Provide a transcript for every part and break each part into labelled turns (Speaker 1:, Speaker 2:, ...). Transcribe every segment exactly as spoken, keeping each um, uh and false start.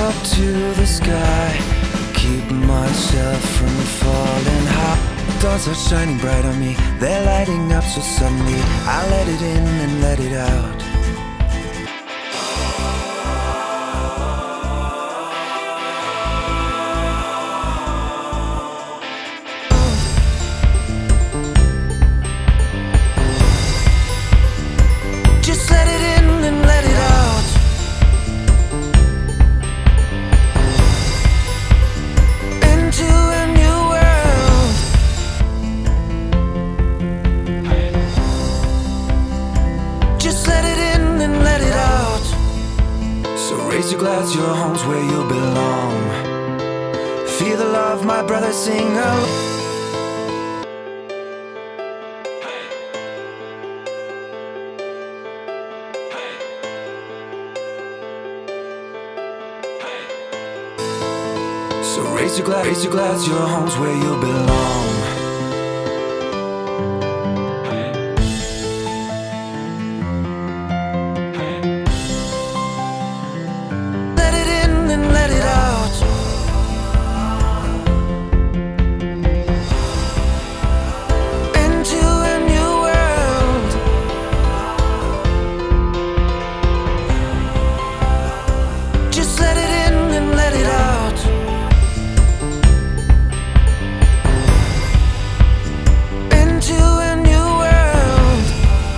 Speaker 1: up to the sky, keep myself from falling high. Stars are shining bright on me, they're lighting up so suddenly I let it in and let it out. Just let it in and let it out. Into a new world. Just let it in and let it out. So raise your glass, your home's where you belong. Feel the love, my brother, sing along. So raise your glass, raise your glass, your home's where you belong. Let it in and let it out. Into a new world. Just let it in and let it out. Into a new world.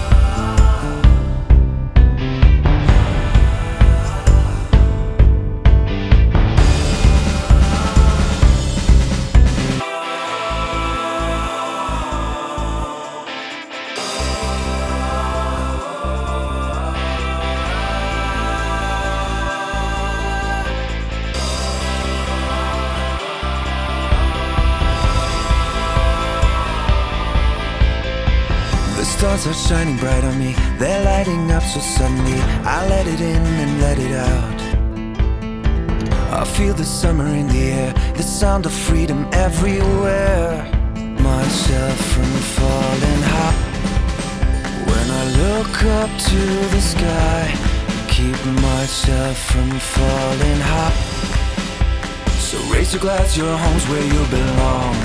Speaker 1: The stars are shining bright on me, they're lighting up so suddenly I let it in and let it out. I feel the summer in the air, the sound of freedom everywhere. Myself from falling high. When I look up to the sky, keep myself from falling high. So raise your glass, your home's where you belong.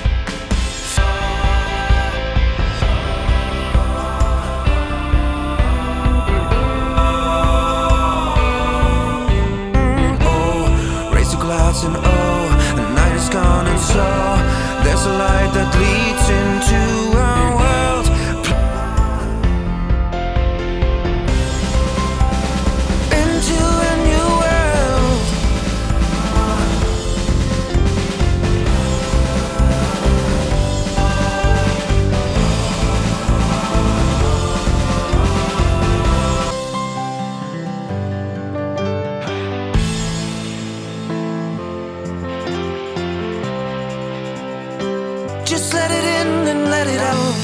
Speaker 1: And oh, the night is gone and so there's a light that leads into our world. Into a new world. Just let it in and let it out.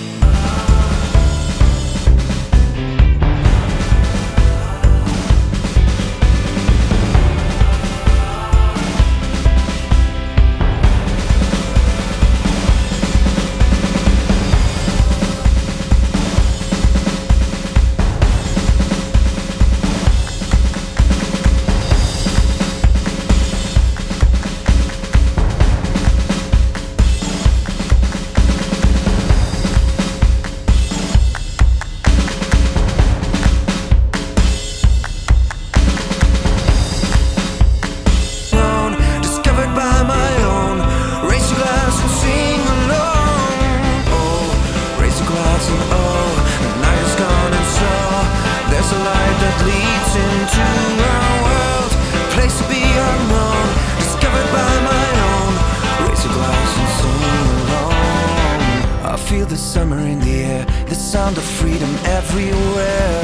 Speaker 1: Feel the summer in the air, the sound of freedom everywhere.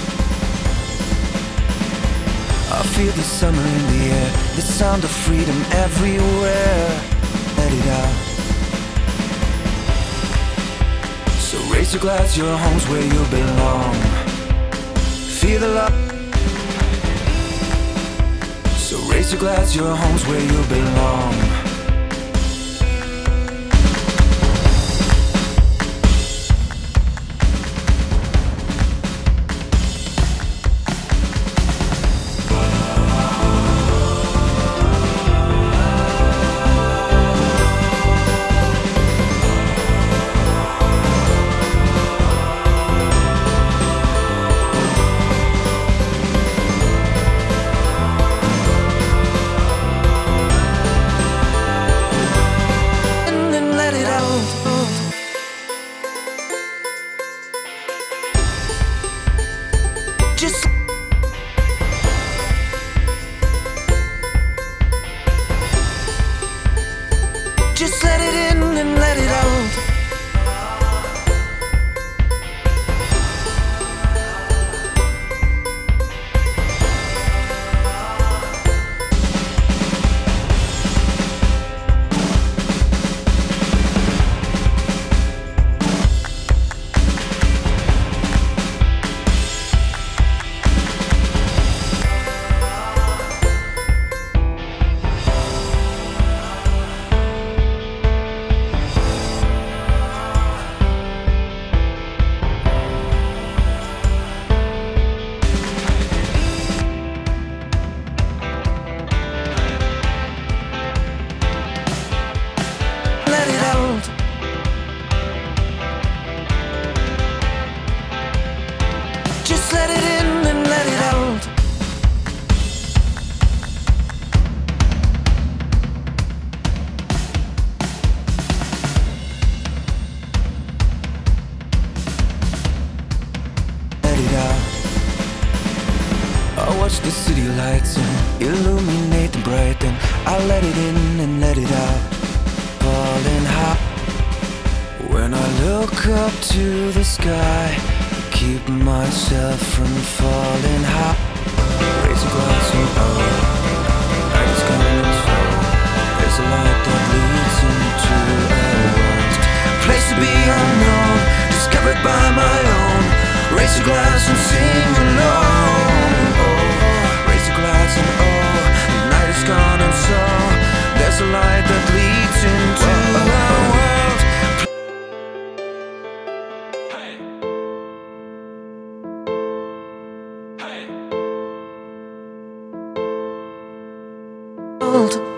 Speaker 1: I feel the summer in the air, the sound of freedom everywhere. Let it out. So raise your glass, your home's where you belong. Feel the love. So raise your glass, your home's where you belong. the city lights and illuminate them bright. Then I let it in and let it out, falling hot. When I look up to the sky, keep myself from falling hot. Raise a glass and oh, night is coming slow. There's a light that leads into a world, place to be unknown, discovered by my own. Raise a glass and sing alone. Oh, raise a glass and oh, the night is gone and so there's a light that leads into a world. Hey. Hey. World.